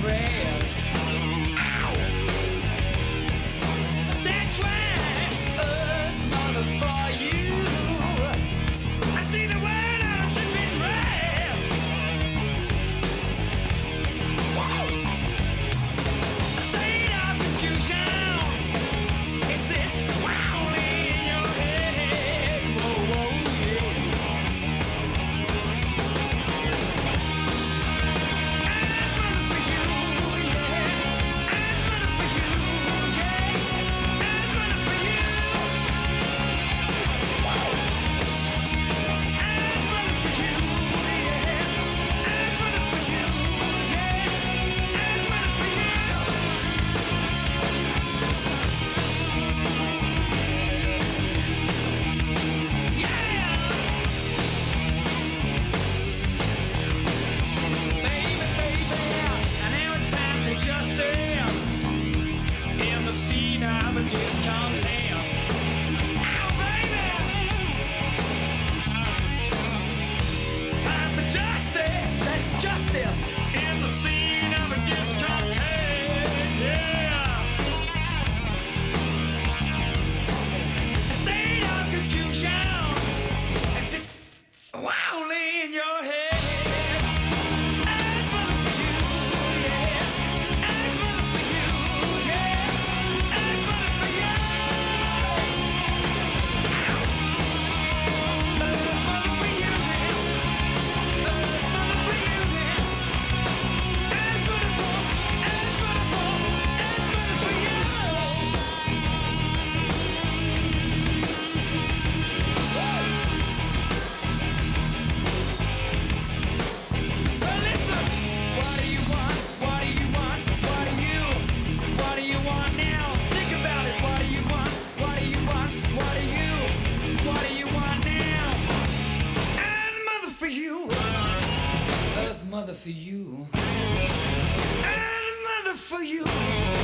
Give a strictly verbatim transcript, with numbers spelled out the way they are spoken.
red. Ow! That's right, Earth, mother, for you. I see the world on a dripping red. Whoa! A state of confusion exists wildly in your head. Whoa, whoa, yeah. Justice in the scene of a discontent. Ow, baby! Time for justice. That's justice in the scene of a discontent. Yeah. A state of confusion exists wildly in your head. Mother for you, and mother for you.